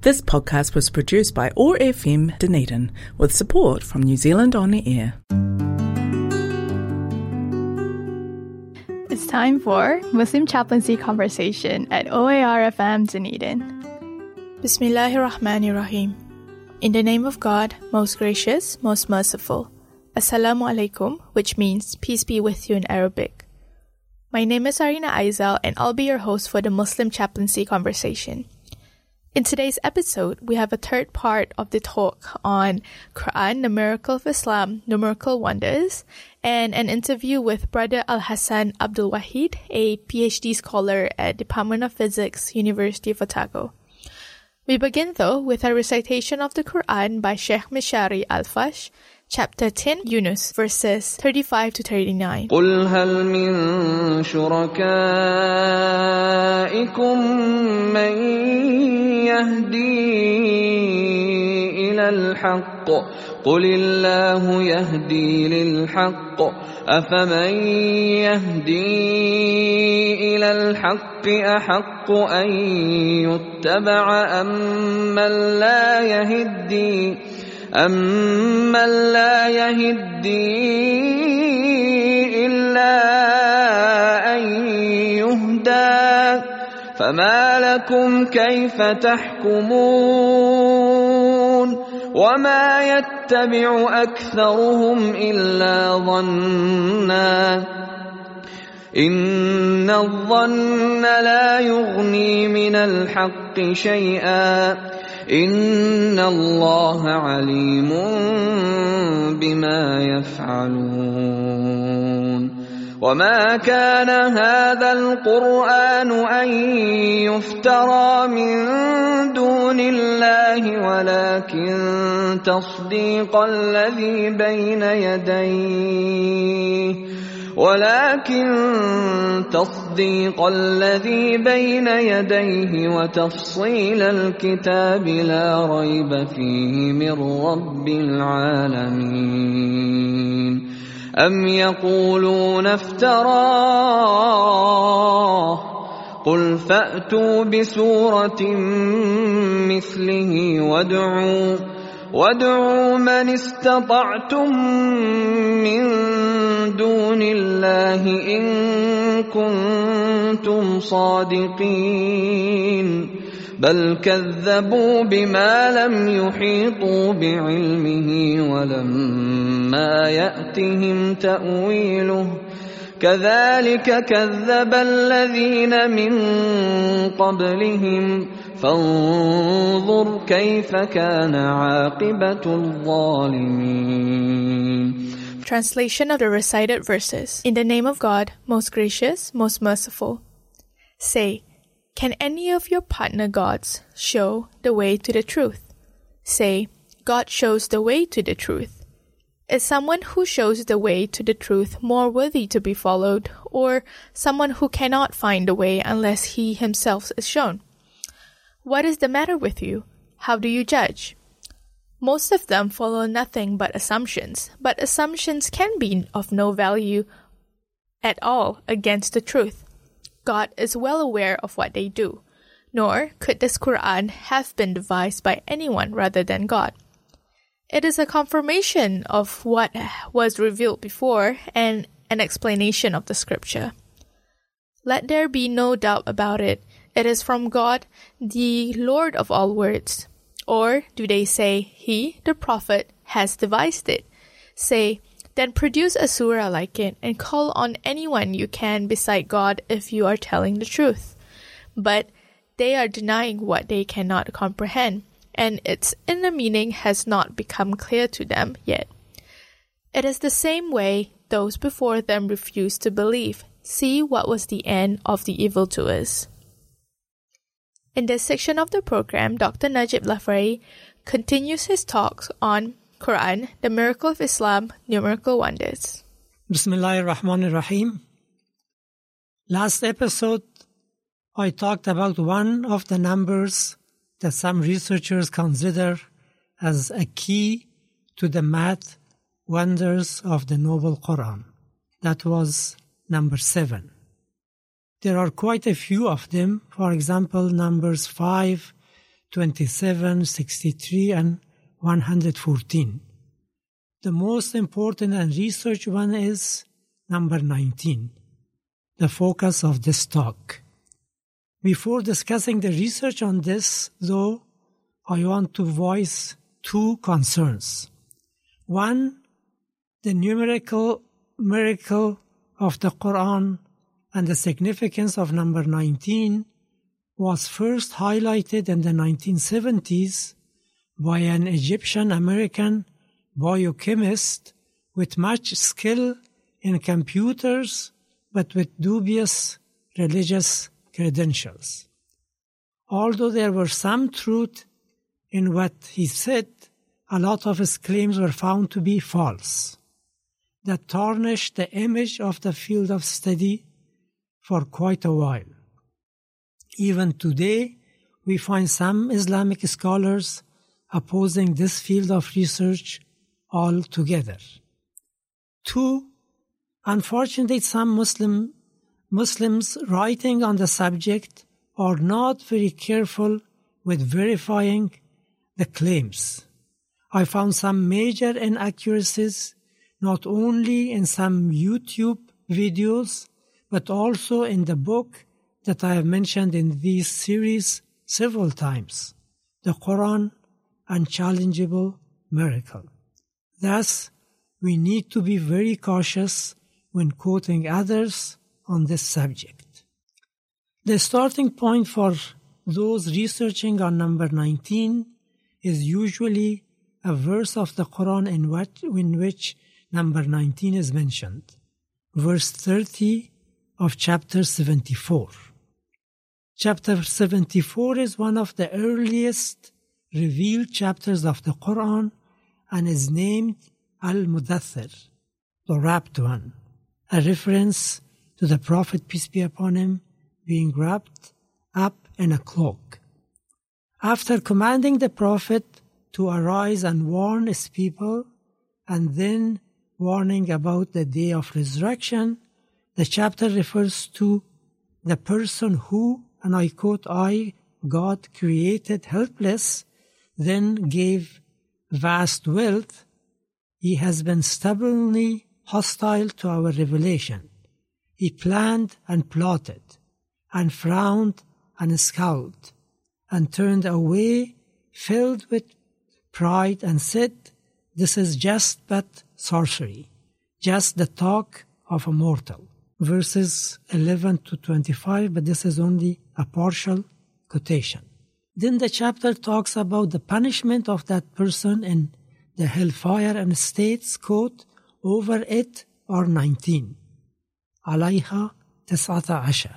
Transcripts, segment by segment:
This podcast was produced by OAR FM Dunedin with support from New Zealand On Air. It's time for Muslim Chaplaincy Conversation at OAR FM Dunedin. Bismillahirrahmanirrahim. In the name of God, most gracious, most merciful. Assalamu alaikum, which means peace be with you in Arabic. My name is Arina Aizal and I'll be your host for the Muslim Chaplaincy Conversation. In today's episode, we have a third part of the talk on Quran, the Miracle of Islam, Numerical Wonders, and an interview with Brother Al-Hassan Abdul Wahid, a PhD scholar at Department of Physics, University of Otago. We begin, though, with a recitation of the Quran by Sheikh Mishari Al-Fash, Chapter 10, Yunus, verses 35 to 39. قُلْ هَلْ مِن شُرَكَائِكُم مَّن يَهْدِي إِلَى الْحَقِّ قُلِ اللَّهُ يَهْدِي لِلْحَقِّ أَفَمَن يَهْدِي إِلَى الْحَقِّ أَحَقُّ أَن يُتَّبَعَ أَمَّن لا يهدي إلا أن يهدى فما لكم كيف تحكمون وما يتبع أكثرهم إلا ظنا إن الظن لا يغني من الحق شيئا إن الله عليم بما يفعلون وما كان هذا القرآن أن يفترى من دون الله ولكن تصديق الذي بين يديه وتفصيل الكتاب لا ريب فيه من رب العالمين أم يقولون افتراه قل فأتوا بسورة مثله وادعوا من استطعتم من دون الله إن كنتم صادقين بل كذبوا بما لم يحيطوا بعلمه ولما يأتهم تأويله كذلك كذب الذين من قبلهم فانظر كيف كان عاقبة الظالمين. Translation of the recited verses. In the name of God, most gracious, most merciful. Say, can any of your partner gods show the way to the truth? Say, God shows the way to the truth. Is someone who shows the way to the truth more worthy to be followed, or someone who cannot find the way unless he himself is shown? What is the matter with you? How do you judge? Most of them follow nothing but assumptions can be of no value at all against the truth. God is well aware of what they do, nor could this Quran have been devised by anyone rather than God. It is a confirmation of what was revealed before and an explanation of the scripture. Let there be no doubt about it. It is from God, the Lord of all words. Or do they say, he, the prophet, has devised it? Say, then produce a surah like it and call on anyone you can beside God if you are telling the truth. But they are denying what they cannot comprehend, and its inner meaning has not become clear to them yet. It is the same way those before them refused to believe. See what was the end of the evildoers. In this section of the program, Dr. Najib Lafray continues his talks on Quran, the Miracle of Islam, Numerical Wonders. Bismillahirrahmanirrahim. Last episode, I talked about one of the numbers that some researchers consider as a key to the math wonders of the Noble Quran. That was number 7. There are quite a few of them. For example, numbers 5 27, 63, and 114. The most important and researched one is number 19, the focus of this talk. Before discussing the research on this, though, I want to voice two concerns. One, the numerical miracle of the Quran and the significance of number 19 was first highlighted in the 1970s by an Egyptian-American biochemist with much skill in computers but with dubious religious credentials. Although there were some truth in what he said, a lot of his claims were found to be false, that tarnished the image of the field of study for quite a while. Even today, we find some Islamic scholars opposing this field of research altogether. Two, unfortunately, some Muslims writing on the subject are not very careful with verifying the claims. I found some major inaccuracies not only in some YouTube videos, but also in the book that I have mentioned in this series several times, The Quran, Unchallengeable Miracle. Thus, we need to be very cautious when quoting others on this subject. The starting point for those researching on number 19 is usually a verse of the Quran in which number 19 is mentioned, verse 30 of chapter 74. Chapter 74 is one of the earliest revealed chapters of the Quran and is named Al-Mudaththir, the wrapped one, a reference to the Prophet, peace be upon him, being wrapped up in a cloak. After commanding the Prophet to arise and warn his people, and then warning about the day of resurrection, the chapter refers to the person who, and I quote, I, God, created helpless, then gave vast wealth. He has been stubbornly hostile to our revelation. He planned and plotted, and frowned and scowled, and turned away, filled with pride, and said, "This is just but sorcery, just the talk of a mortal." Verses 11 to 25, but this is only a partial quotation. Then the chapter talks about the punishment of that person in the hellfire and states, quote, over it are 19. Alayha tis'ata ashar.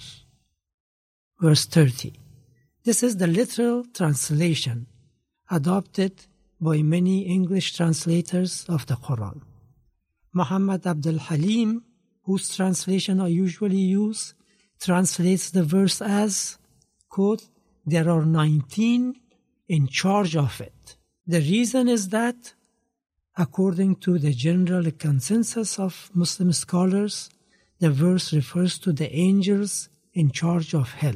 Verse 30. This is the literal translation adopted by many English translators of the Quran. Muhammad Abdul Halim, whose translation I usually use, translates the verse as, quote, there are 19 in charge of it. The reason is that, according to the general consensus of Muslim scholars, the verse refers to the angels in charge of hell.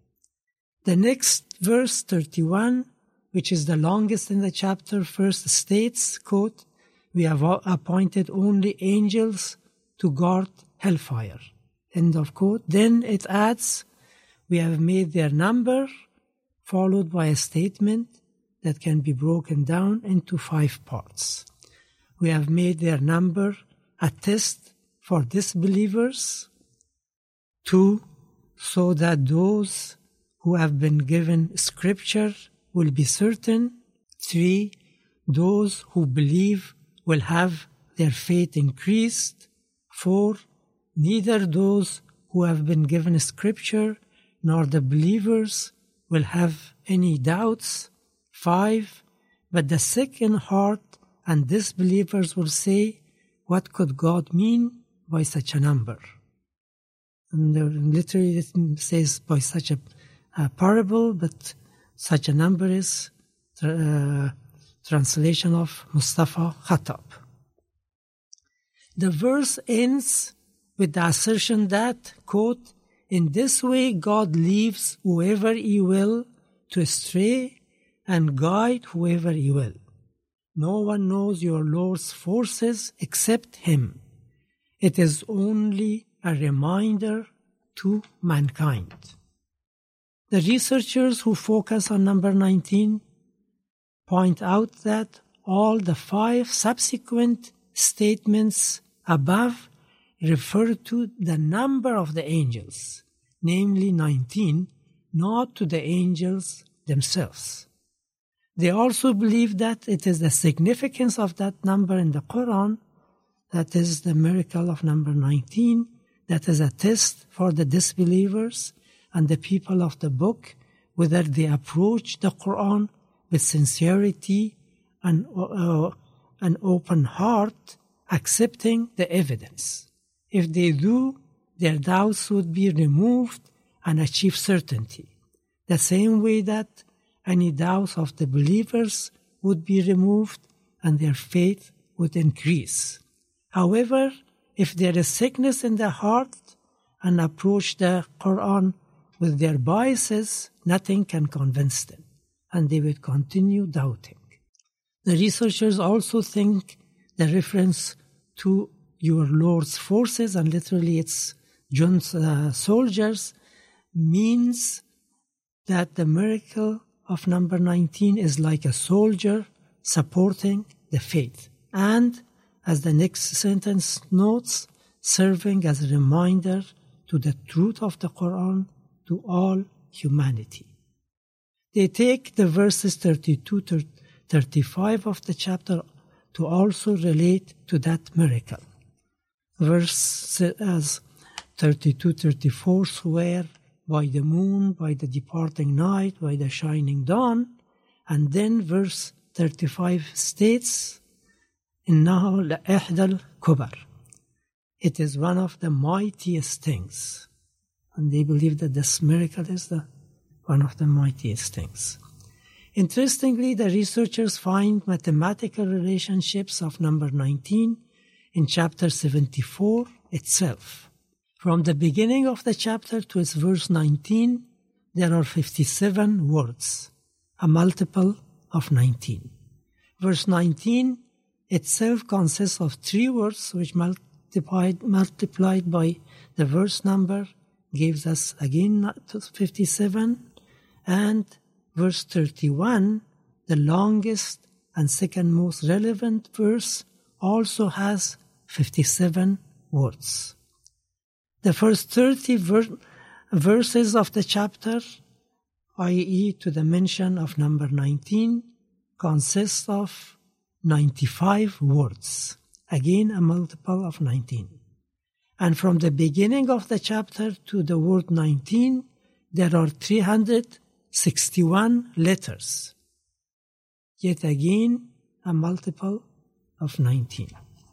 The next verse, 31, which is the longest in the chapter, first states, quote, we have appointed only angels to guard hellfire, end of quote. Then it adds, we have made their number, followed by a statement that can be broken down into 5 parts. We have made their number a test for disbelievers. 2, so that those who have been given scripture will be certain. 3, those who believe will have their faith increased. 4, neither those who have been given scripture nor the believers will have any doubts. 5, but the sick in heart and disbelievers will say, what could God mean by such a number? And literally it says by such a parable, but such a number is translation of Mustafa Khattab. The verse ends with the assertion that, quote, in this way God leaves whoever he will to stray and guide whoever you will. No one knows your Lord's forces except Him. It is only a reminder to mankind. The researchers who focus on number 19 point out that all the 5 subsequent statements above refer to the number of the angels, namely 19, not to the angels themselves. They also believe that it is the significance of that number in the Quran, that is the miracle of number 19, that is a test for the disbelievers and the people of the book, whether they approach the Quran with sincerity and an open heart, accepting the evidence. If they do, their doubts would be removed and achieve certainty, the same way that any doubts of the believers would be removed and their faith would increase. However, if there is sickness in their heart and approach the Quran with their biases, nothing can convince them, and they will continue doubting. The researchers also think the reference to your Lord's forces, and literally it's John's soldiers, means that the miracle of number 19 is like a soldier supporting the faith, and, as the next sentence notes, serving as a reminder to the truth of the Quran to all humanity. They take the verses 32 to 35 of the chapter to also relate to that miracle. Verses 32-34 swear by the moon, by the departing night, by the shining dawn, and then verse 35 states, إِنَّهُ لَإِحْدَى الْكُبَرِ. It is one of the mightiest things. And they believe that this miracle is one of the mightiest things. Interestingly, the researchers find mathematical relationships of number 19 in chapter 74 itself. From the beginning of the chapter to its verse 19, there are 57 words, a multiple of 19. Verse 19 itself consists of 3 words which multiplied by the verse number gives us again 57, and verse 31, the longest and second most relevant verse, also has 57 words. The first 30 verses of the chapter, i.e. to the mention of number 19, consist of 95 words, again a multiple of 19. And from the beginning of the chapter to the word 19, there are 361 letters. Yet again, a multiple of 19.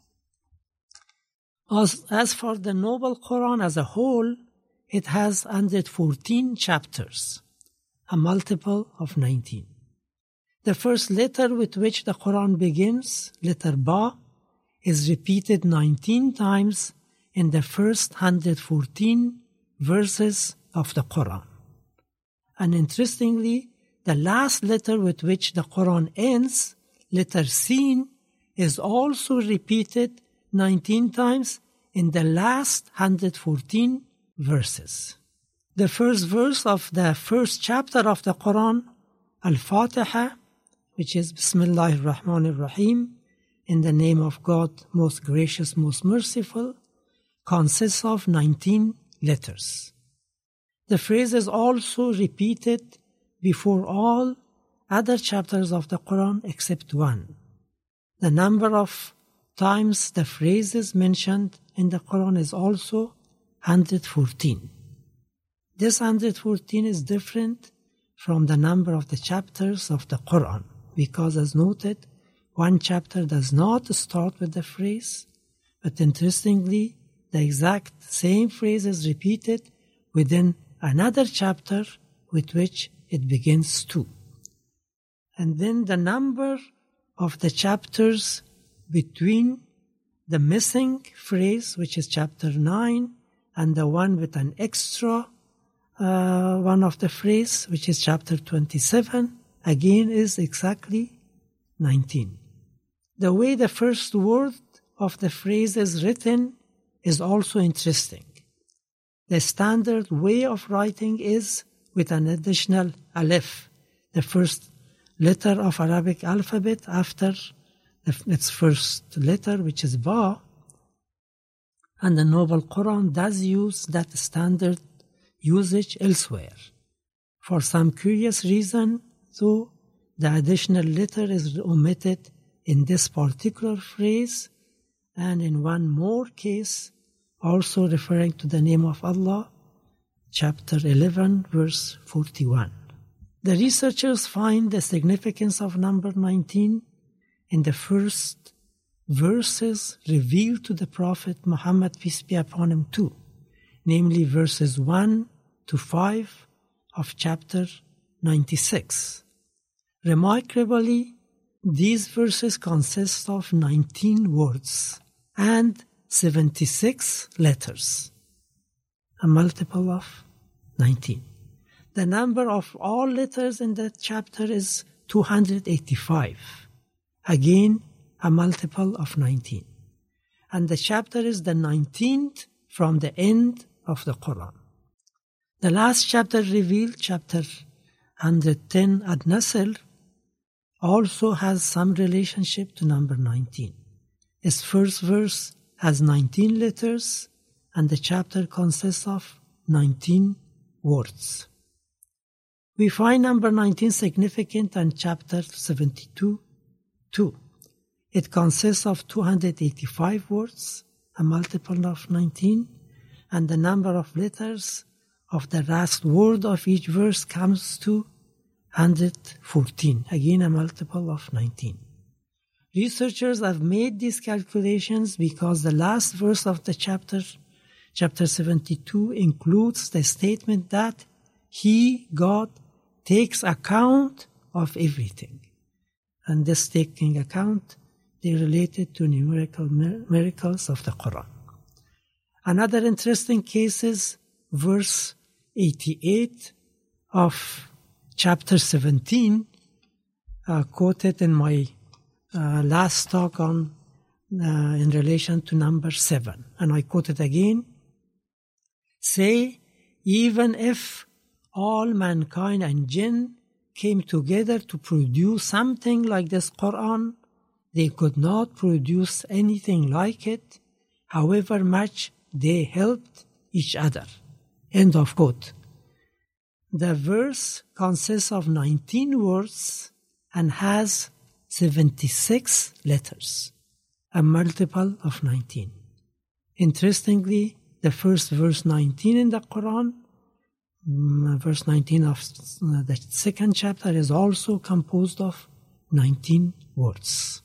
As for the Noble Quran as a whole, it has 114 chapters, a multiple of 19. The first letter with which the Quran begins, letter Ba, is repeated 19 times in the first 114 verses of the Quran. And interestingly, the last letter with which the Quran ends, letter Sin, is also repeated 19 times in the last 114 verses. The first verse of the first chapter of the Quran, Al-Fatiha, which is Bismillahir Rahmanir Rahim, in the name of God, most gracious, most merciful, consists of 19 letters. The phrase is also repeated before all other chapters of the Quran except one. The number of times the phrase is mentioned in the Quran is also 114. This 114 is different from the number of the chapters of the Quran because, as noted, one chapter does not start with the phrase, but interestingly, the exact same phrase is repeated within another chapter with which it begins too. And then the number of the chapters between the missing phrase, which is chapter 9, and the one with an extra one of the phrase, which is chapter 27, again is exactly 19. The way the first word of the phrase is written is also interesting. The standard way of writing is with an additional alif, the first letter of Arabic alphabet after its first letter, which is ba. And the Noble Quran does use that standard usage elsewhere. For some curious reason, though, the additional letter is omitted in this particular phrase, and in one more case, also referring to the name of Allah, chapter 11, verse 41. The researchers find the significance of number 19 in the first verses revealed to the Prophet Muhammad, peace be upon him, too, namely verses 1 to 5 of chapter 96. Remarkably, these verses consist of 19 words and 76 letters, a multiple of 19. The number of all letters in that chapter is 285, again a multiple of 19. And the chapter is the 19th from the end of the Quran. The last chapter revealed, chapter 110 An-Nasr, also has some relationship to number 19. Its first verse has 19 letters, and the chapter consists of 19 words. We find number 19 significant in chapter 72 too. It consists of 285 words, a multiple of 19, and the number of letters of the last word of each verse comes to 114, again a multiple of 19. Researchers have made these calculations because the last verse of the chapter 72, includes the statement that He, God, takes account of everything. And this taking account, they related to numerical miracles of the Quran. Another interesting case is verse 88 of chapter 17, quoted in my last talk on in relation to number 7. And I quote it again. Say, even if all mankind and jinn came together to produce something like this Quran, they could not produce anything like it, however much they helped each other. End of quote. The verse consists of 19 words and has 76 letters, a multiple of 19. Interestingly, the first verse 19 in the Quran, verse 19 of the second chapter, is also composed of 19 words.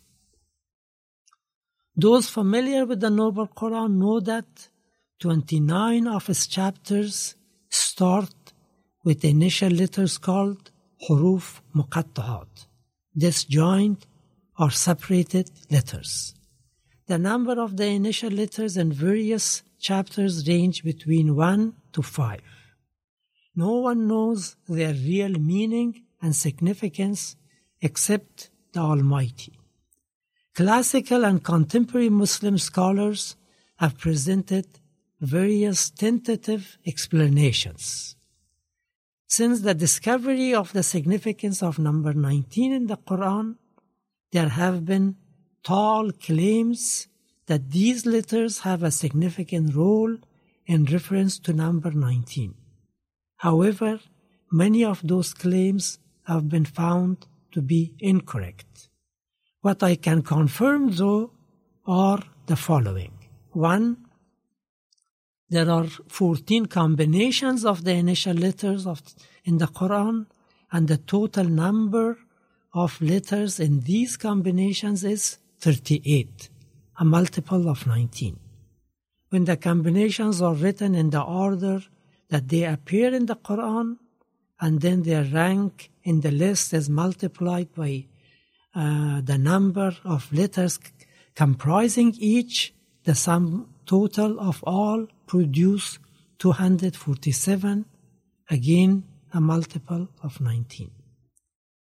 Those familiar with the Noble Quran know that 29 of its chapters start with the initial letters called huruf muqatta'at, disjoint or separated letters. The number of the initial letters in various chapters range between 1 to 5. No one knows their real meaning and significance except the Almighty. Classical and contemporary Muslim scholars have presented various tentative explanations. Since the discovery of the significance of number 19 in the Quran, there have been tall claims that these letters have a significant role in reference to number 19. However, many of those claims have been found to be incorrect. What I can confirm, though, are the following. 1. There are 14 combinations of the initial letters in the Quran, and the total number of letters in these combinations is 38, a multiple of 19. When the combinations are written in the order that they appear in the Quran, and then their rank in the list is multiplied by the number of letters comprising each, the sum total of all produce 247, again a multiple of 19.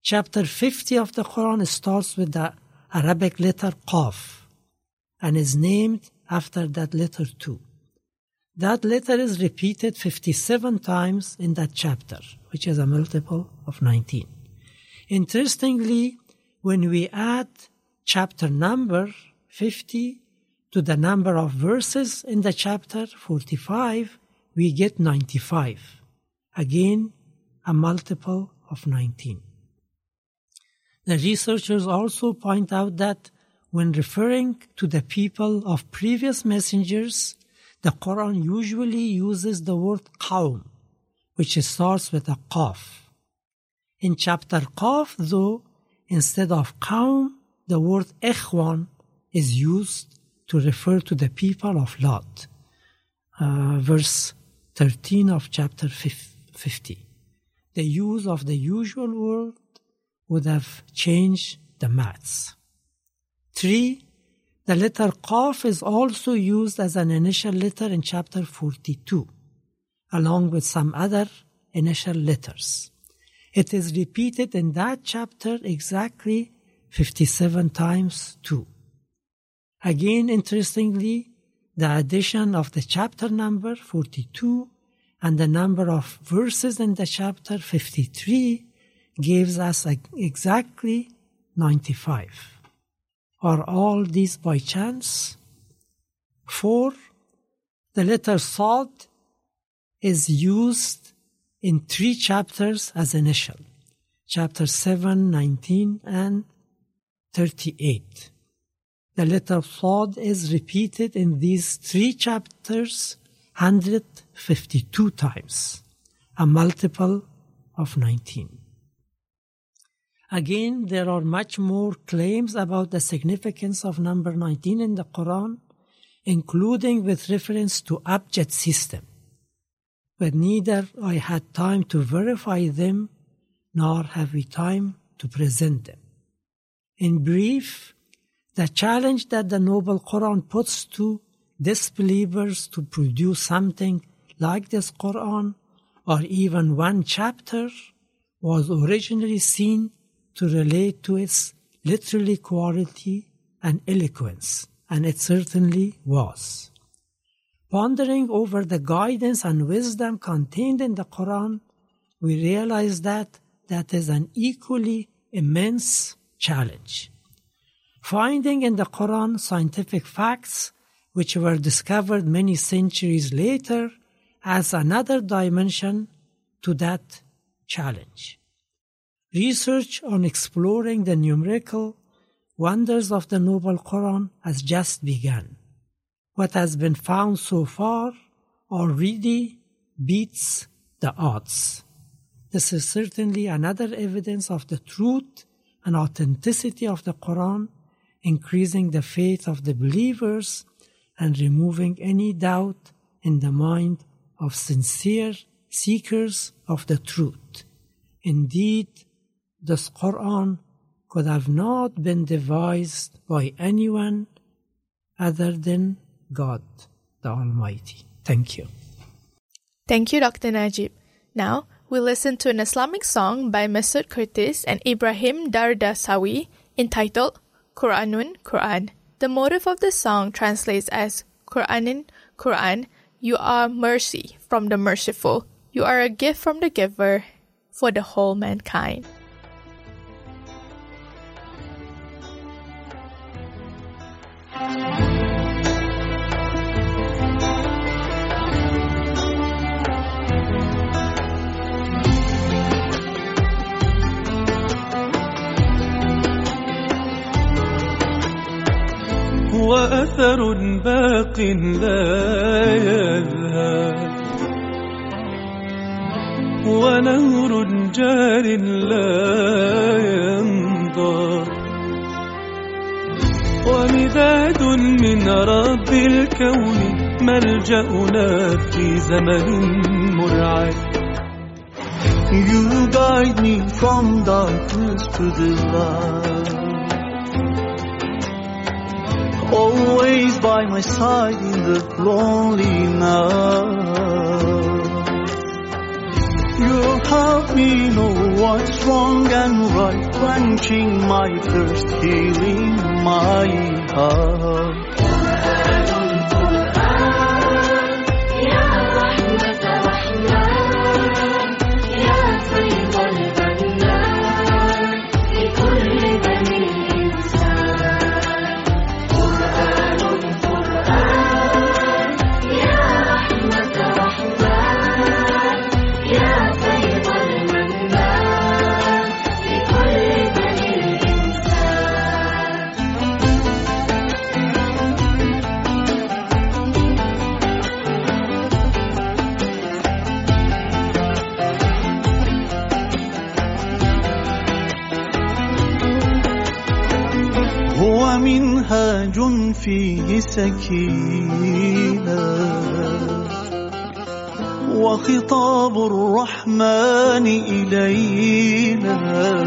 Chapter 50 of the Quran starts with the Arabic letter Qaf and is named after that letter too. That letter is repeated 57 times in that chapter, which is a multiple of 19. Interestingly, when we add chapter number 50 to the number of verses in the chapter 45, we get 95. Again, a multiple of 19. The researchers also point out that when referring to the people of previous messengers, the Quran usually uses the word qawm, which starts with a qaf. In chapter Qaf, though, instead of qawm, the word ikhwan is used to refer to the people of Lot. Verse 13 of chapter 50. The use of the usual word would have changed the maths. 3. The letter Qaf is also used as an initial letter in chapter 42, along with some other initial letters. It is repeated in that chapter exactly 57 times too. Again, interestingly, the addition of the chapter number 42 and the number of verses in the chapter 53 gives us exactly 95. Are all these by chance? 4. The letter Sad is used in 3 chapters as initial. Chapter 7, 19, and 38. The letter Sad is repeated in these 3 chapters 152 times, a multiple of 19. Again, there are much more claims about the significance of number 19 in the Quran, including with reference to abjad system. But neither I had time to verify them, nor have we time to present them. In brief, the challenge that the Noble Quran puts to disbelievers to produce something like this Quran, or even one chapter, was originally seen to relate to its literary quality and eloquence, and it certainly was. Pondering over the guidance and wisdom contained in the Quran, we realize that is an equally immense challenge. Finding in the Quran scientific facts which were discovered many centuries later adds another dimension to that challenge. Research on exploring the numerical wonders of the Noble Quran has just begun. What has been found so far already beats the odds. This is certainly another evidence of the truth and authenticity of the Quran, increasing the faith of the believers and removing any doubt in the mind of sincere seekers of the truth. Indeed, this Quran could have not been devised by anyone other than God, the Almighty. Thank you. Thank you, Dr. Najib. Now, we'll listen to an Islamic song by Masood Curtis and Ibrahim Dardasawi entitled Quranun Quran. The motive of the song translates as Quranin, Quran, you are mercy from the merciful. You are a gift from the giver for the whole mankind. وأثر باق لا يذهب ونهر جار لا ينضب ومداد من رب الكون ملجأنا في زمن مرعب. You guide me from darkness to the light, always by my side in the lonely night. You help me know what's wrong and right, quenching my thirst, healing my heart. هو منهاج فيه سكينة وخطاب الرحمن إلينا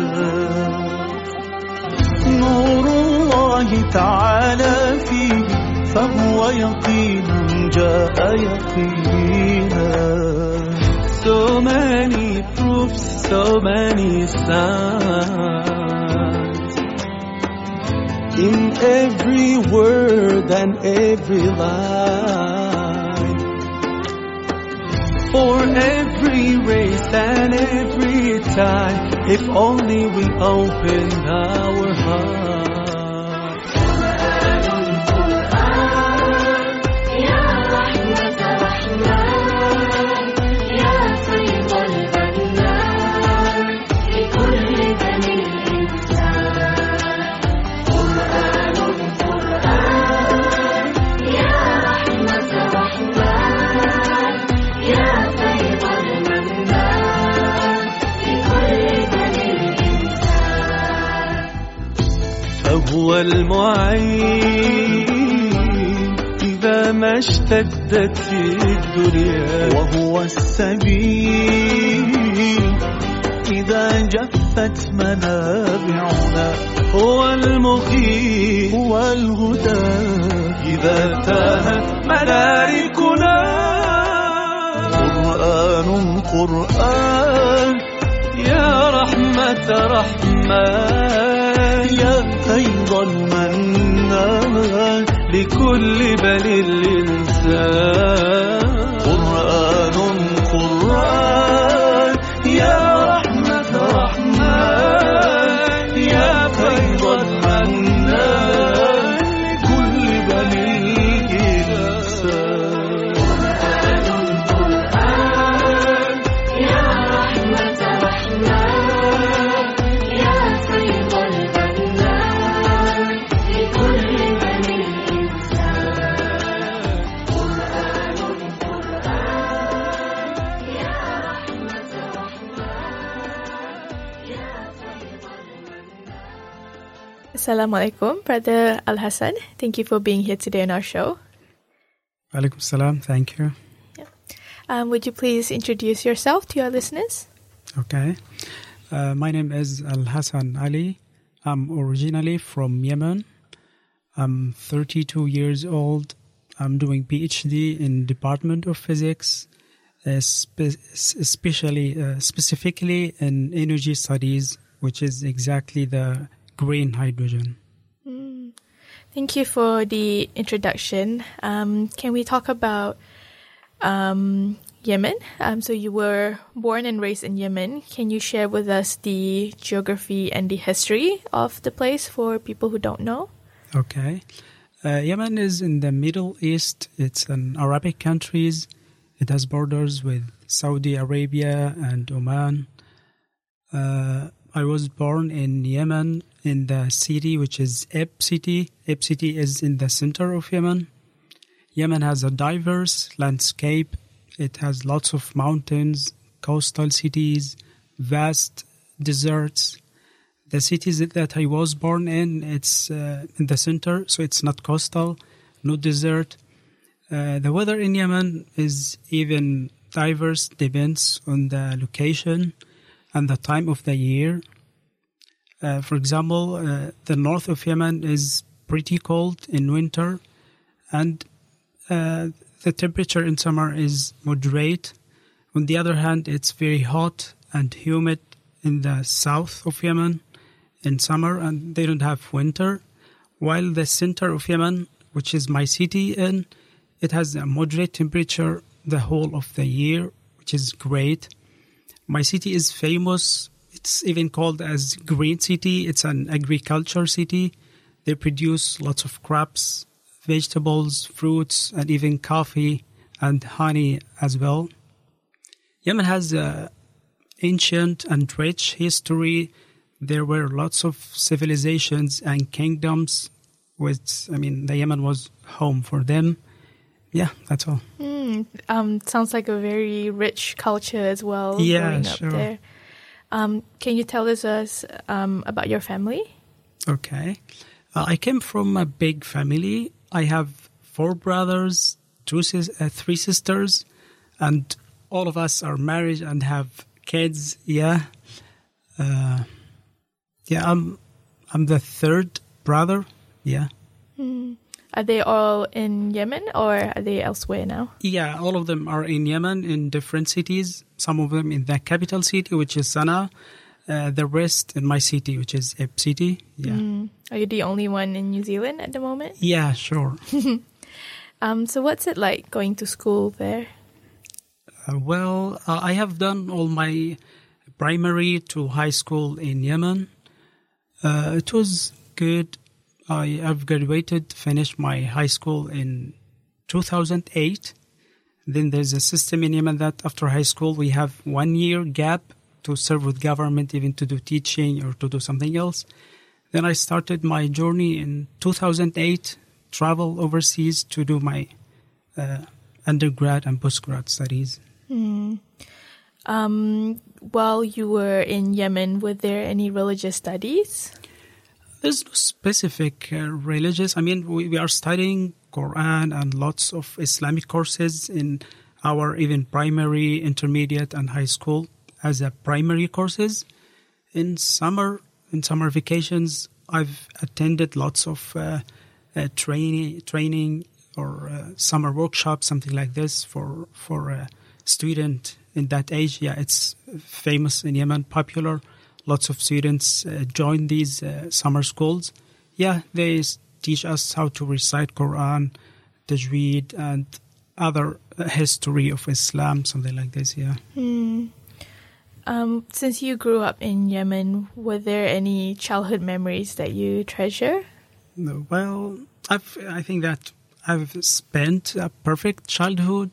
نور الله تعالى فيه فهو يقين جاء يقينا. So many proofs, so many signs in every word and every line, for every race and every time, if only we open our hearts. هو المعين إذا ما اشتدت الدنيا، وهو السبيل إذا جفت منابعنا، هو المقيم هو الهدى إذا تاهت مداركنا. قرآن قرآن يا رحمة رحمن، يا فيض المنان لكل بني الإنسان. قرآن قرآن يا رحمة رحمن، يا فيض المنان لكل بني الإنسان. قرآن قرآن يا رحمة رحمن، يا فيض المنان لكل بني الإنسان. قرآن قرآن يا رحمة رحمن، يا فيض المنان. Assalamu alaikum, Brother Al-Hassan. Thank you for being here today on our show. Alaikum salam, thank you. Would you please introduce yourself to your listeners? Okay. My name is Al-Hassan Ali. I'm originally from Yemen. I'm 32 years old. I'm doing PhD in Department of Physics, specifically in energy studies, which is exactly the green hydrogen. Thank you for the introduction. Can we talk about Yemen? So you were born and raised in Yemen. Can you share with us the geography and the history of the place for people who don't know? Okay. Yemen is in the Middle East. It's an Arabic country. It has borders with Saudi Arabia and Oman. I was born in Yemen in the city which is Eb City. Eb City is in the center of Yemen. Yemen has a diverse landscape. It has lots of mountains, coastal cities, vast deserts. The cities that I was born in, it's in the center, so it's not coastal, no desert. The weather in Yemen is even diverse, depends on the location and the time of the year. For example, the north of Yemen is pretty cold in winter, and the temperature in summer is moderate, On the other hand, it's very hot and humid in the south of Yemen in summer, and they don't have winter. While the center of Yemen, which is my city, it has a moderate temperature the whole of the year, which is great. My city is famous. It's even called as Green City. It's an agriculture city. They produce lots of crops, vegetables, fruits, and even coffee and honey as well. Yemen has an ancient and rich history. There were lots of civilizations and kingdoms, the Yemen was home for them. Yeah, that's all. Sounds like a very rich culture as well. Yeah, growing up sure. there. Can you tell us about your family? Okay. I came from a big family. I have 4 brothers, 3 sisters, and all of us are married and have kids. Yeah. I'm the 3rd brother. Yeah. Are they all in Yemen or are they elsewhere now? Yeah, all of them are in Yemen in different cities. Some of them in the capital city, which is Sana'a. The rest in my city, which is Ib City. Yeah. Are you the only one in New Zealand at the moment? Yeah, sure. So what's it like going to school there? I have done all my primary to high school in Yemen. It was good. I have graduated, finished my high school in 2008. Then there's a system in Yemen that after high school we have 1 year gap to serve with government, even to do teaching or to do something else. Then I started my journey in 2008, travel overseas to do my undergrad and postgrad studies. While you were in Yemen, were there any religious studies? There's no specific religious. We are studying Quran and lots of Islamic courses in our even primary, intermediate, and high school as a primary courses. In summer vacations, I've attended lots of training or summer workshops, something like this for a student in that age. Yeah, it's famous in Yemen, popular. Lots of students join these summer schools. Yeah, they teach us how to recite Quran, Tajweed, and other history of Islam, something like this, yeah. Since you grew up in Yemen, were there any childhood memories that you treasure? No, well, I think that I've spent a perfect childhood.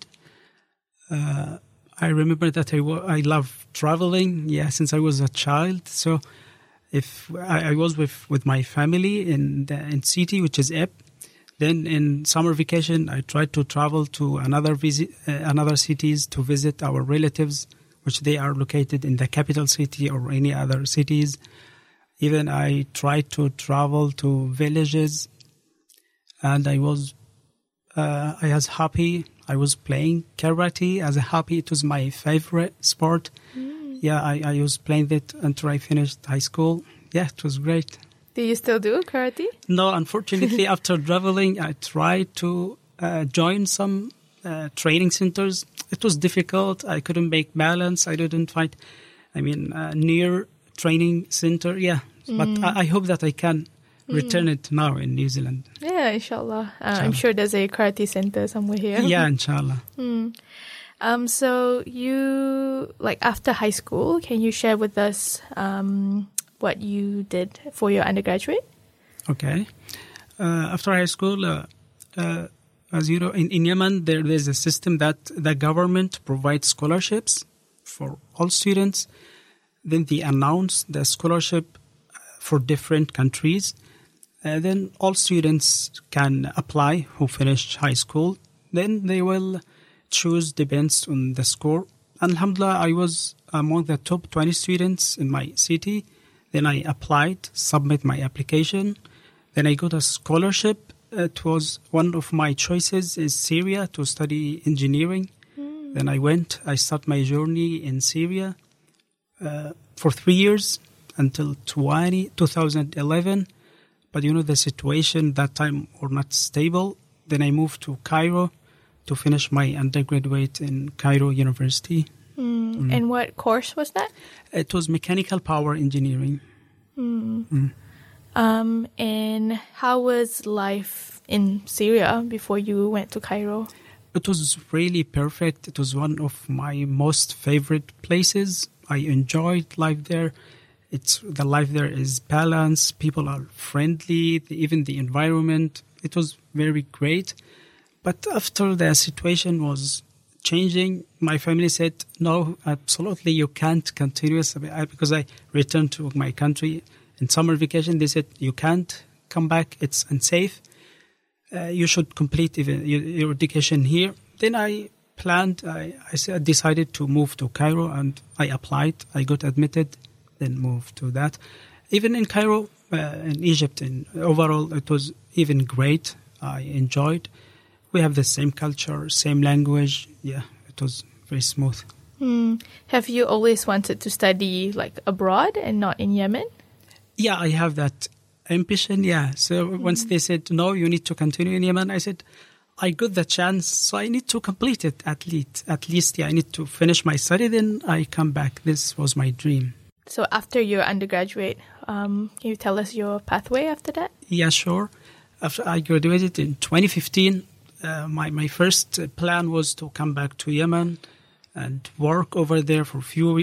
I remember that I love traveling, since I was a child. So if I was with my family in city, which is Ib, then in summer vacation, I tried to travel to another cities to visit our relatives, which they are located in the capital city or any other cities. Even I tried to travel to villages, and I was happy. I was playing karate as a hobby. It was my favorite sport. Yeah, I was playing that until I finished high school. Yeah, it was great. Do you still do karate? No, unfortunately, after traveling, I tried to join some training centers. It was difficult. I couldn't make balance. I didn't find, near training center. Yeah, but I hope that I can return it now in New Zealand. Yeah, inshallah. I'm sure there's a karate center somewhere here. Yeah, inshallah. So you, after high school, can you share with us what you did for your undergraduate? Okay. After high school, as you know, in Yemen, there is a system that the government provides scholarships for all students. Then they announce the scholarship for different countries. Then all students can apply who finished high school. Then they will choose, depends on the score. Alhamdulillah, I was among the top 20 students in my city. Then I applied, submit my application. Then I got a scholarship. It was one of my choices is Syria to study engineering. Then I started my journey in Syria for 3 years until 2011. But the situation that time were not stable. Then I moved to Cairo to finish my undergraduate in Cairo University. And what course was that? It was mechanical power engineering. And how was life in Syria before you went to Cairo? It was really perfect. It was one of my most favorite places. I enjoyed life there. The life there is balanced. People are friendly. Even the environment, it was very great. But after the situation was changing, my family said, no, absolutely, you can't continue. Because I returned to my country in summer vacation, they said, you can't come back. It's unsafe. You should complete even your education here. Then I planned, I decided to move to Cairo, and I applied. I got admitted, then moved to that. Even in Cairo, in Egypt, overall, it was even great. I enjoyed. We have the same culture, same language. Yeah, it was very smooth. Have you always wanted to study like abroad and not in Yemen? Yeah, I have that ambition, yeah. So once they said, no, you need to continue in Yemen, I said, I got the chance, so I need to complete it at least. Yeah, I need to finish my study, then I come back. This was my dream. So after your undergraduate, can you tell us your pathway after that? Yeah, sure. After I graduated in 2015, my first plan was to come back to Yemen and work over there for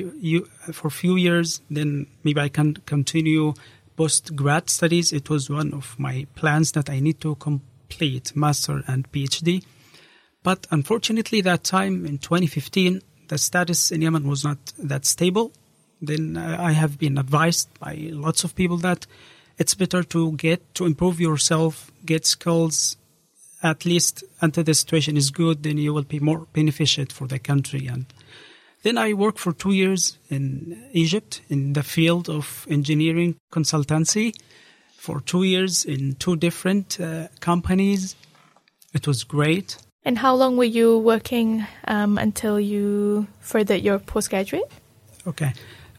few years. Then maybe I can continue post-grad studies. It was one of my plans that I need to complete master and PhD. But unfortunately, that time in 2015, the status in Yemen was not that stable. Then I have been advised by lots of people that it's better to improve yourself, get skills, at least until the situation is good, then you will be more beneficial for the country. And then I worked for 2 years in Egypt in the field of engineering consultancy for 2 years in 2 different companies. It was great. And how long were you working until you furthered your postgraduate? Okay.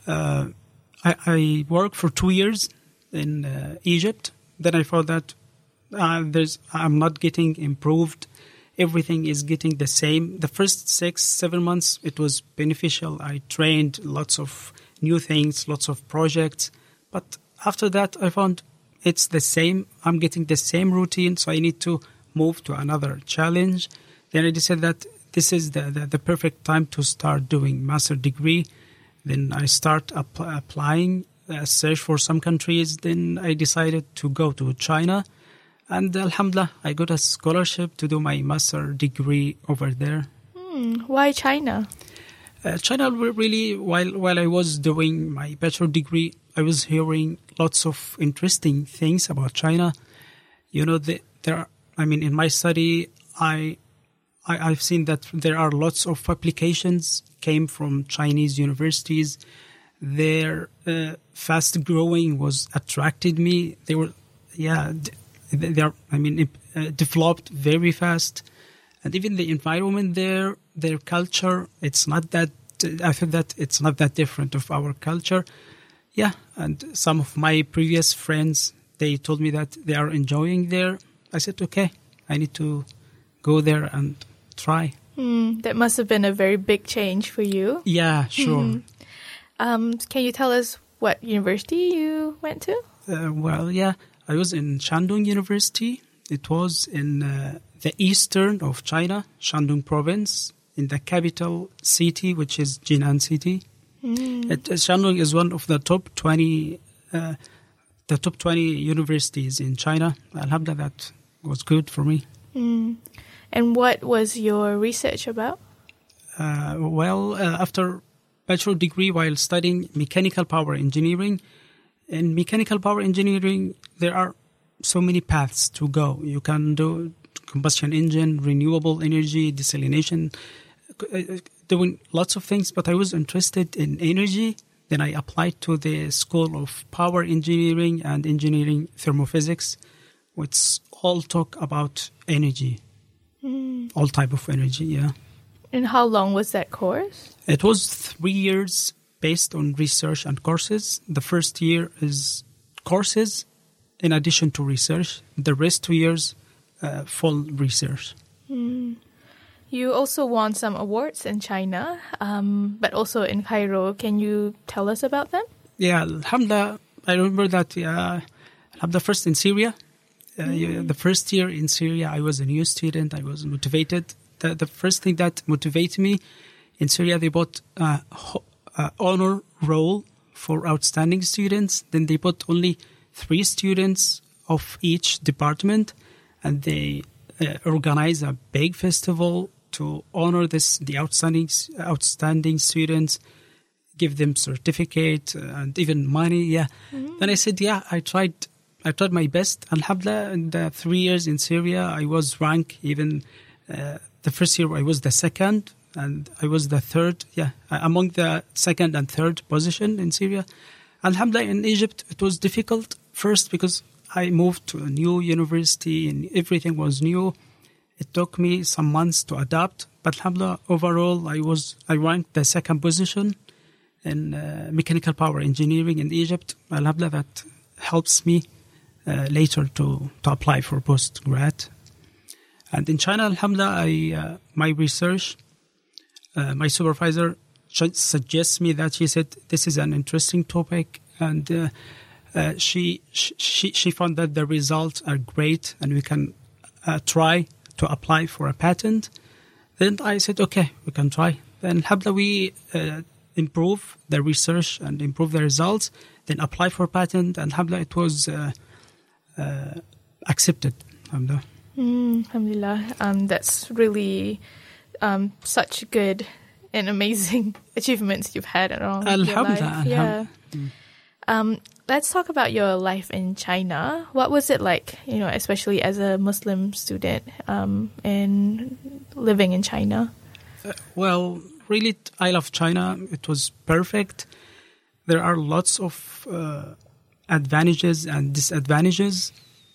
I worked for 2 years in Egypt. Then I found that I'm not getting improved. Everything is getting the same. The first 6-7 months, it was beneficial. I trained lots of new things, lots of projects. But after that, I found it's the same. I'm getting the same routine, so I need to move to another challenge. Then I decided that this is the perfect time to start doing master degree. Then I start applying, search for some countries. Then I decided to go to China. And alhamdulillah, I got a scholarship to do my master degree over there. Why China? China, really, while I was doing my bachelor degree, I was hearing lots of interesting things about China. You know, in my study, I've seen that there are lots of applications came from Chinese universities. Their fast growing was attracted me. They were, developed very fast. And even the environment there, their culture, it's not that, I feel that it's not that different of our culture. Yeah, and some of my previous friends, they told me that they are enjoying there. I said, okay, I need to go there and try. That must have been a very big change for you. Yeah, sure. Can you tell us what university you went to? I was in Shandong University. It was in the eastern of China, Shandong province, in the capital city, which is Jinan city. Shandong is one of the top 20 universities in China. Alhamdulillah, that was good for me. And what was your research about? After bachelor degree, while studying mechanical power engineering, in mechanical power engineering, there are so many paths to go. You can do combustion engine, renewable energy, desalination, doing lots of things, but I was interested in energy. Then I applied to the School of Power Engineering and Engineering Thermophysics, which all talk about energy, all type of energy, yeah. And how long was that course? It was 3 years based on research and courses. The first year is courses in addition to research. The rest 2 years, full research. You also won some awards in China, but also in Cairo. Can you tell us about them? Yeah, alhamdulillah, I remember that alhamdulillah, first in Syria. The first year in Syria, I was a new student. I was motivated. The first thing that motivated me in Syria, they bought honor roll for outstanding students. Then they put only 3 students of each department, and they organize a big festival to honor the outstanding students, give them certificate and even money. Yeah. Then I said, I tried my best. Alhamdulillah, in the 3 years in Syria, I was ranked even the first year I was the second, and I was the third. Yeah, among the second and third position in Syria. Alhamdulillah, in Egypt, it was difficult first because I moved to a new university and everything was new. It took me some months to adapt, but alhamdulillah, overall, I ranked the second position in mechanical power engineering in Egypt. Alhamdulillah, that helps me later to apply for postgrad. And in China, alhamdulillah, my research, my supervisor suggests me that she said this is an interesting topic, and she found that the results are great and we can try to apply for a patent. Then I said, okay, we can try. Then alhamdulillah, we improve the research and improve the results, then apply for patent, and alhamdulillah, it was accepted. Alhamdulillah. Alhamdulillah. That's really such good and amazing achievements you've had around your life. Yeah. Let's talk about your life in China. What was it like, especially as a Muslim student and living in China? Well, really, I love China. It was perfect. There are lots of advantages and disadvantages.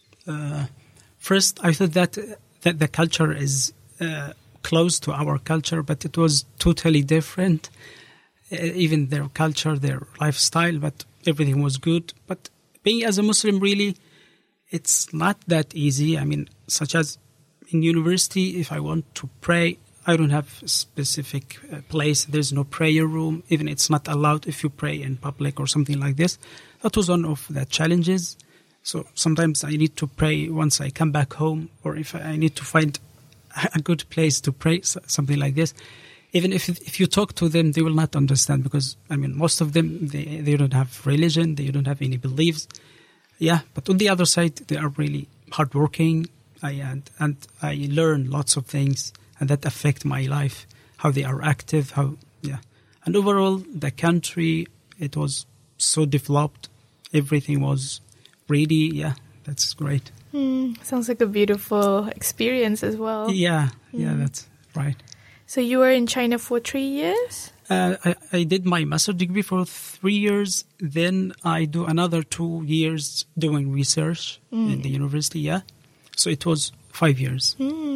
First, I thought that the culture is close to our culture, but it was totally different. Even their culture, their lifestyle, but everything was good. But being as a Muslim, really, it's not that easy. I mean, such as in university, if I want to pray, I don't have a specific place. There's no prayer room. Even it's not allowed if you pray in public or something like this. That was one of the challenges. So sometimes I need to pray once I come back home, or if I need to find a good place to pray, something like this. Even if you talk to them, they will not understand because, I mean, most of them, they don't have religion, they don't have any beliefs. Yeah, but on the other side, they are really hardworking, and I learn lots of things, and that affect my life, how they are active, And overall, the country, it was so developed. Everything was really, that's great. Sounds like a beautiful experience as well. Yeah, that's right. So you were in China for 3 years? I did my master's degree for 3 years. Then I do another 2 years doing research in the university, So it was 5 years.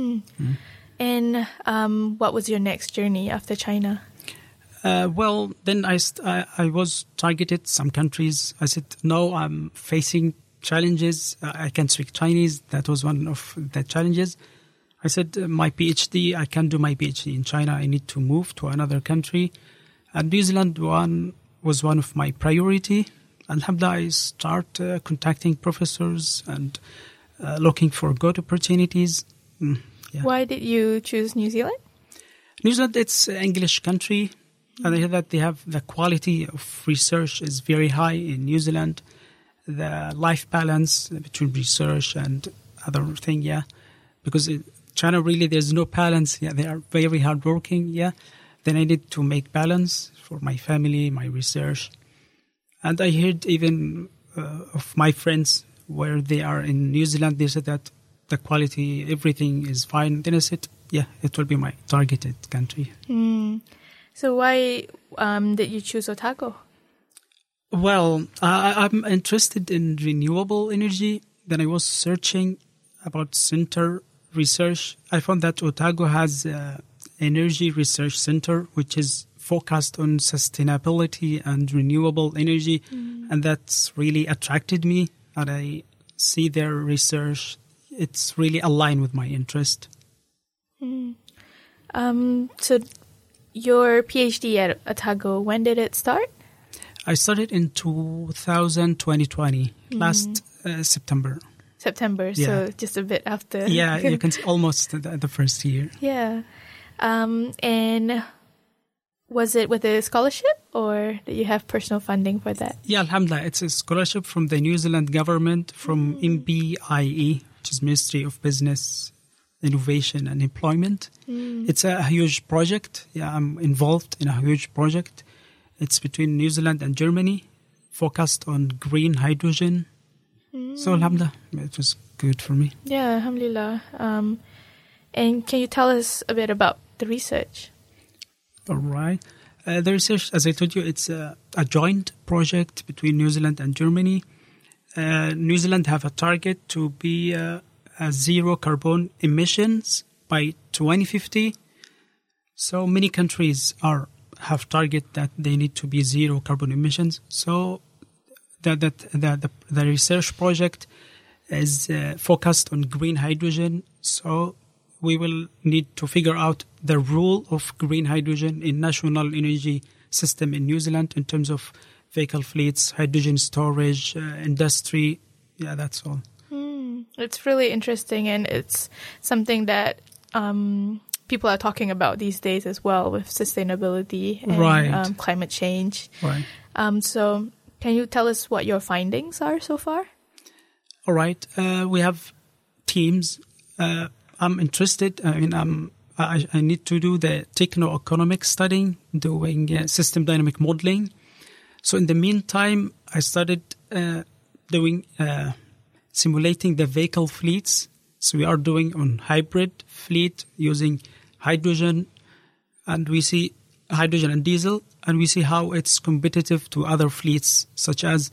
And what was your next journey after China? Well, then I was targeted some countries. I said, no, I'm facing challenges. I can speak Chinese. That was one of the challenges. I said, my PhD, I can't do my PhD in China. I need to move to another country. And New Zealand was one of my priority. Alhamdulillah, I start contacting professors and looking for good opportunities. Why did you choose New Zealand? New Zealand, it's an English country. And I hear that they have the quality of research is very high in New Zealand. The life balance between research and other thing, because China really there's no balance. They are very hardworking. Then I need to make balance for my family, my research, and I heard even of my friends where they are in New Zealand. They said that the quality, everything is fine. Then I said, it will be my targeted country. So why did you choose Otago? Well, I'm interested in renewable energy. Then I was searching about center research. I found that Otago has an energy research center, which is focused on sustainability and renewable energy. And that's really attracted me. And I see their research. It's really aligned with my interest. So your PhD at Otago, when did it start? I started in 2020, last September. September, Yeah. so just a bit after. Yeah, you can see almost the first year. Yeah. And was it with a scholarship or did you have personal funding for that? Yeah, alhamdulillah. It's a scholarship from the New Zealand government, from MBIE, which is Ministry of Business, Innovation and Employment. It's a huge project. Yeah, I'm involved in a huge project. It's between New Zealand and Germany, focused on green hydrogen. So alhamdulillah, it was good for me. Yeah, alhamdulillah. And can you tell us a bit about the research? All right. The research, as I told you, it's a joint project between New Zealand and Germany. New Zealand have a target to be a zero carbon emissions by 2050. So many countries have target that they need to be zero carbon emissions. So the research project is focused on green hydrogen. So we will need to figure out the role of green hydrogen in national energy system in New Zealand in terms of vehicle fleets, hydrogen storage, industry. Yeah, that's all. It's really interesting, and it's something that people are talking about these days as well, with sustainability and Right. Climate change. Right. So can you tell us what your findings are so far? All right. We have teams. I'm interested. I mean, I need to do the techno-economic studying, doing system dynamic modeling. So in the meantime, I started doing simulating the vehicle fleets. So we are doing on hybrid fleet using hydrogen, and we see hydrogen and diesel, and we see how it's competitive to other fleets such as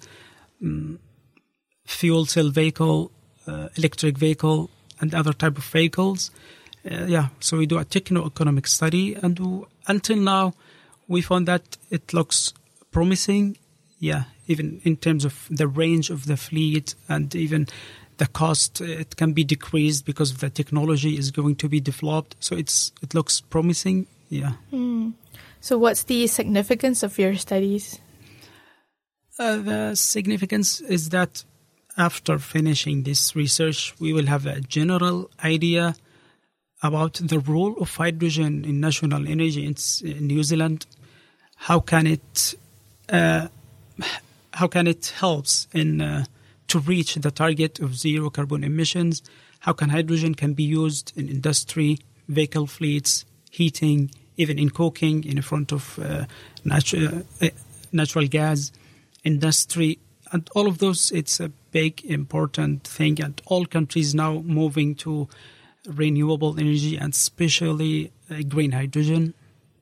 fuel cell vehicle, electric vehicle, and other type of vehicles. So we do a techno-economic study, and until now, we found that it looks promising. Yeah, even in terms of the range of the fleet and even the cost, it can be decreased because of the technology is going to be developed. So it looks promising. Yeah. So what's the significance of your studies? The significance is that after finishing this research, we will have a general idea about the role of hydrogen in national energy in New Zealand. How can it helps in to reach the target of zero carbon emissions? How can hydrogen can be used in industry, vehicle fleets, heating, even in cooking in front of natural gas, industry, and all of those? It's a big, important thing, and all countries now moving to renewable energy and especially green hydrogen.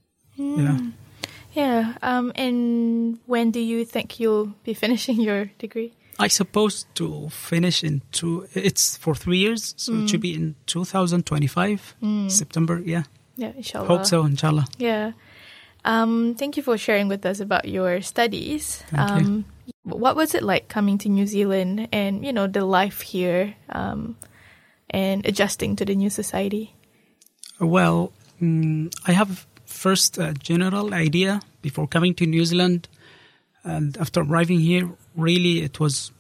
Yeah. And when do you think you'll be finishing your degree? I suppose to finish it's for 3 years, so it should be in 2025, September, yeah. Yeah, inshallah. Hope so, inshallah. Yeah. Thank you for sharing with us about your studies. Thank you. What was it like coming to New Zealand and, the life here and adjusting to the new society? Well, I have first a general idea before coming to New Zealand. And after arriving here, really it was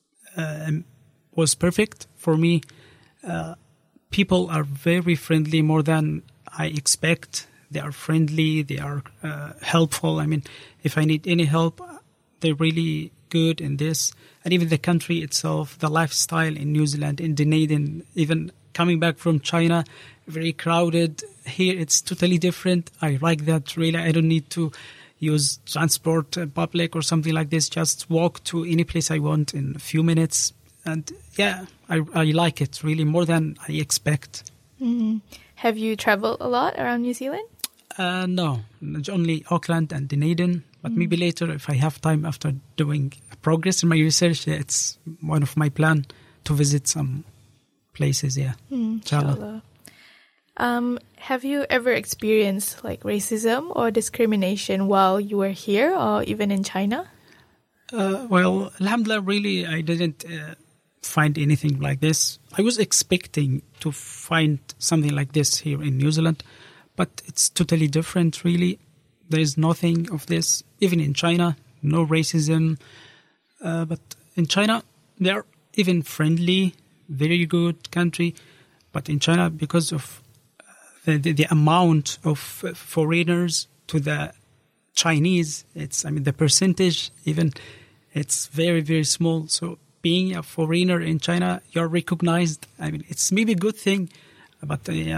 perfect for me. People are very friendly, more than I expect. They are friendly, they are helpful. I mean, if I need any help, they're really good in this. And even the country itself, the lifestyle in New Zealand, in Dunedin, even coming back from China, very crowded. Here it's totally different. I like that, really. I don't need to use transport, public or something like this. Just walk to any place I want in a few minutes. And yeah, I like it really more than I expect. Mm-hmm. Have you traveled a lot around New Zealand? No, only Auckland and Dunedin. But maybe later, if I have time after doing progress in my research, it's one of my plan to visit some places, yeah. Inshallah. Have you ever experienced like racism or discrimination while you were here or even in China? Well, alhamdulillah, really, I didn't find anything like this. I was expecting to find something like this here in New Zealand, but it's totally different, really. There is nothing of this. Even in China, no racism. But in China, they are even friendly, very good country. But in China, because of the amount of foreigners to the Chinese, the percentage even, it's very, very small. So being a foreigner in China, you're recognized. It's maybe a good thing, but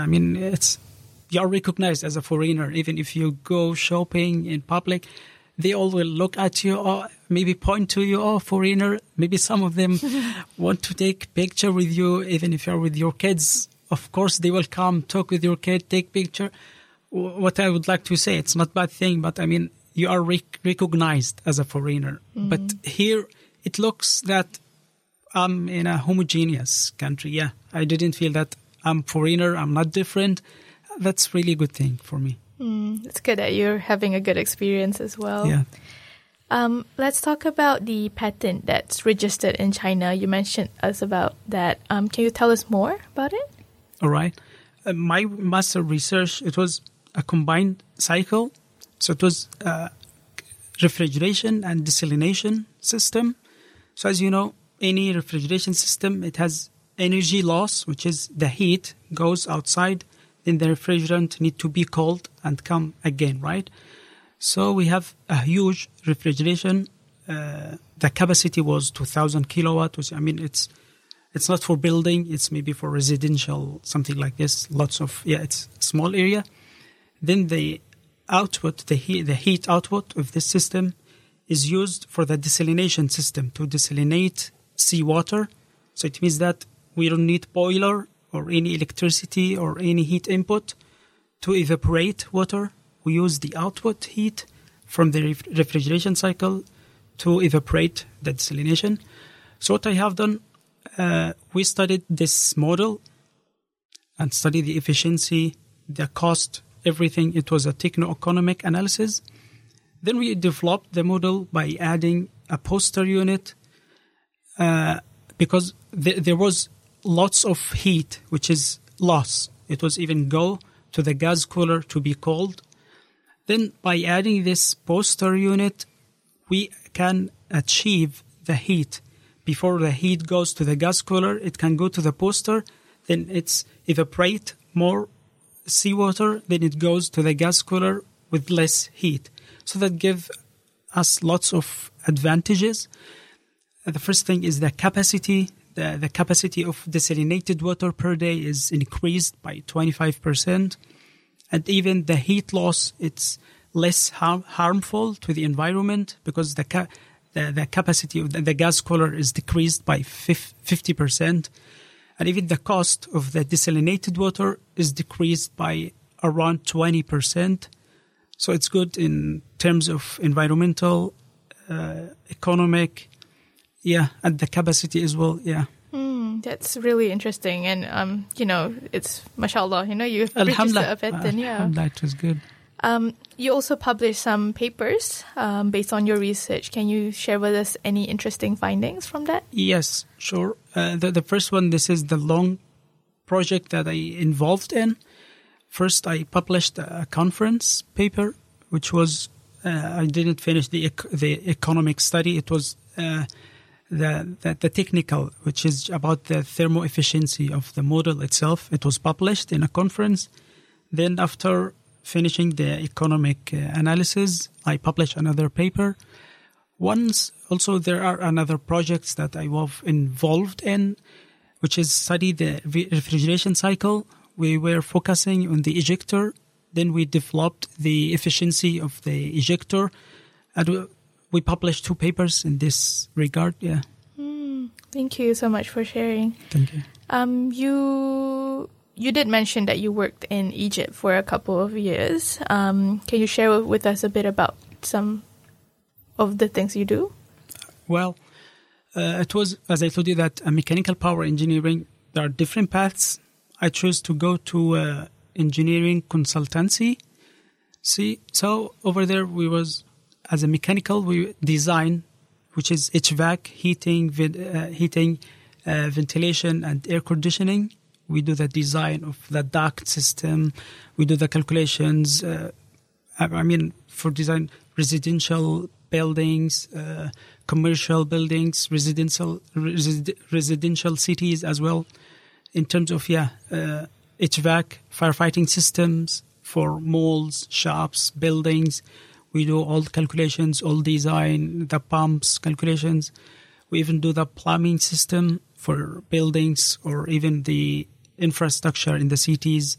you're recognized as a foreigner. Even if you go shopping in public, they all will look at you or maybe point to you, oh, foreigner. Maybe some of them want to take picture with you, even if you're with your kids. Of course, they will come, talk with your kid, take picture. What I would like to say, it's not a bad thing, but you are recognized as a foreigner. Mm-hmm. But here, it looks that I'm in a homogeneous country. Yeah, I didn't feel that I'm foreigner, I'm not different. That's really a good thing for me. It's good that you're having a good experience as well. Yeah. Let's talk about the patent that's registered in China. You mentioned us about that. Can you tell us more about it? All right. My master research, it was a combined cycle. So it was a refrigeration and desalination system. So as you know, any refrigeration system, it has energy loss, which is the heat goes outside. Then the refrigerant need to be cold and come again, right? So we have a huge refrigeration. The capacity was 2,000 kilowatt. Which, it's not for building. It's maybe for residential, something like this. It's a small area. Then the output, the heat output of this system is used for the desalination system to desalinate seawater. So it means that we don't need boiler or any electricity or any heat input to evaporate water. We use the output heat from the refrigeration cycle to evaporate the desalination. So what I have done, we studied this model and studied the efficiency, the cost, everything. It was a techno-economic analysis. Then we developed the model by adding a booster unit because there was lots of heat, which is loss. It was even go to the gas cooler to be cold. Then by adding this booster unit, we can achieve the heat. Before the heat goes to the gas cooler, it can go to the booster. Then it's evaporate more seawater. Then it goes to the gas cooler with less heat. So that gives us lots of advantages. The first thing is the capacity. The capacity of desalinated water per day is increased by 25%. And even the heat loss, it's less harmful to the environment because the capacity of the gas cooler is decreased by 50%. And even the cost of the desalinated water is decreased by around 20%. So it's good in terms of environmental, economic, and the capacity as well, That's really interesting. And, it's, mashallah, you've registered a patent. Alhamdulillah, it was good. You also published some papers based on your research. Can you share with us any interesting findings from that? Yes, sure. The first one, this is the long project that I involved in. First, I published a conference paper, which was, I didn't finish the economic study. It was the technical, which is about the thermo efficiency of the model itself. It was published in a conference. Then after finishing the economic analysis, I published another paper. Once also there are another projects that I was involved in, which is study the refrigeration cycle. We were focusing on the ejector. Then we developed the efficiency of the ejector. And we published 2 papers in this regard. Yeah. Thank you so much for sharing. Thank you. You did mention that you worked in Egypt for a couple of years. Can you share with us a bit about some of the things you do? Well, it was, as I told you, that mechanical power engineering, there are different paths. I chose to go to engineering consultancy. So over there as a mechanical, we design, which is HVAC, heating, ventilation, and air conditioning. We do the design of the duct system. We do the calculations. For design residential buildings, commercial buildings, residential cities as well. In terms of HVAC, firefighting systems for malls, shops, buildings. We do all the calculations, all design, the pumps calculations. We even do the plumbing system for buildings or even the infrastructure in the cities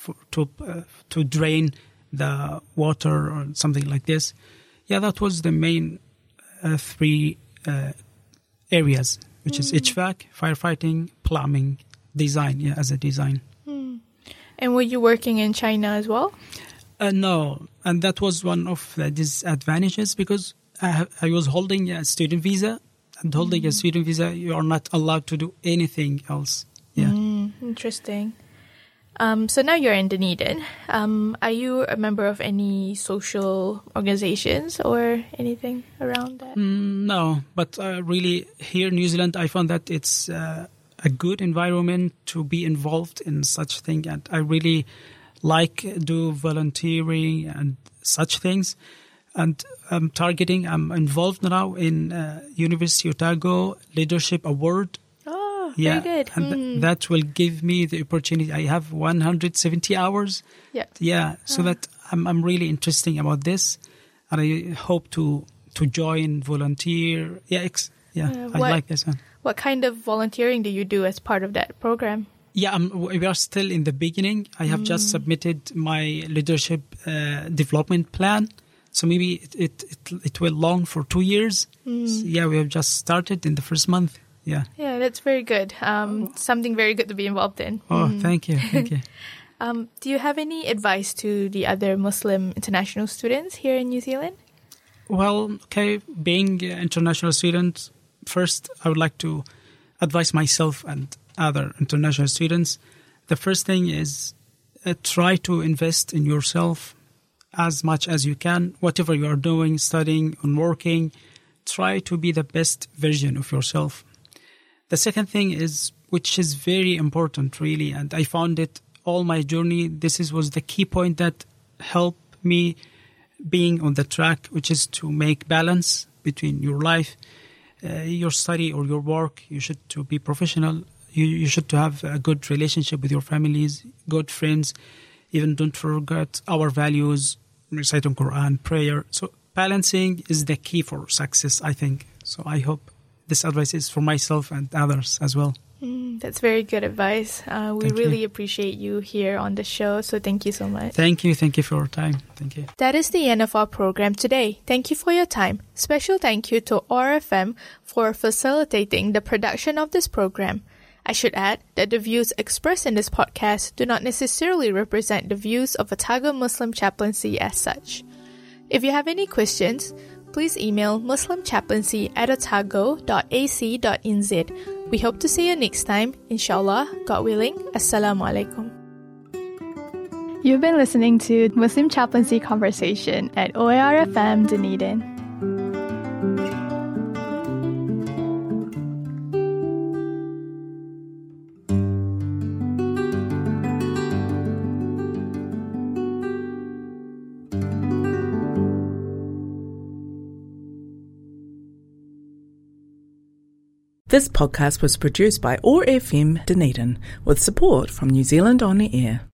to drain the water or something like this. Yeah, that was the main three areas, which is HVAC, firefighting, plumbing, design, as a design. And were you working in China as well? No, and that was one of the disadvantages because I was holding a student visa. And holding a student visa, you are not allowed to do anything else. Yeah. Interesting. So now you're in Dunedin. Are you a member of any social organizations or anything around that? No, but really here in New Zealand, I found that it's a good environment to be involved in such thing, and I really do volunteering and such things. And I'm involved now in University of Otago Leadership Award. Oh, very good. And that will give me the opportunity. I have 170 hours. Yeah. Yeah, so that I'm really interested about this. And I hope to join, volunteer. I like this one. What kind of volunteering do you do as part of that program? Yeah, we are still in the beginning. I have just submitted my leadership development plan. So maybe it will long for 2 years. So we have just started in the first month. Yeah. Yeah, that's very good. Something very good to be involved in. Oh, thank you. Thank you. Do you have any advice to the other Muslim international students here in New Zealand? Well, being an international student, first I would like to advise myself and other international students. The first thing is try to invest in yourself as much as you can. Whatever you are doing, studying and working, try to be the best version of yourself. The second thing is, which is very important really, and I found it all my journey, was the key point that helped me being on the track, which is to make balance between your life, your study or your work. You should to be professional. You should to have a good relationship with your families, good friends. Even don't forget our values, reciting Quran, prayer. So balancing is the key for success, I think. So I hope this advice is for myself and others as well. That's very good advice. We really appreciate you here on the show, so thank you so much. Thank you for your time. Thank you. That is the end of our program today. Thank you for your time. Special thank you to OAR FM for facilitating the production of this program. I should add that the views expressed in this podcast do not necessarily represent the views of Otago Muslim Chaplaincy as such. If you have any questions, please email muslimchaplaincy@otago.ac.nz. We hope to see you next time. Inshallah, God willing. Assalamu alaikum. You've been listening to Muslim Chaplaincy Conversation at OAR FM Dunedin. This podcast was produced by OAR FM Dunedin with support from New Zealand On the Air.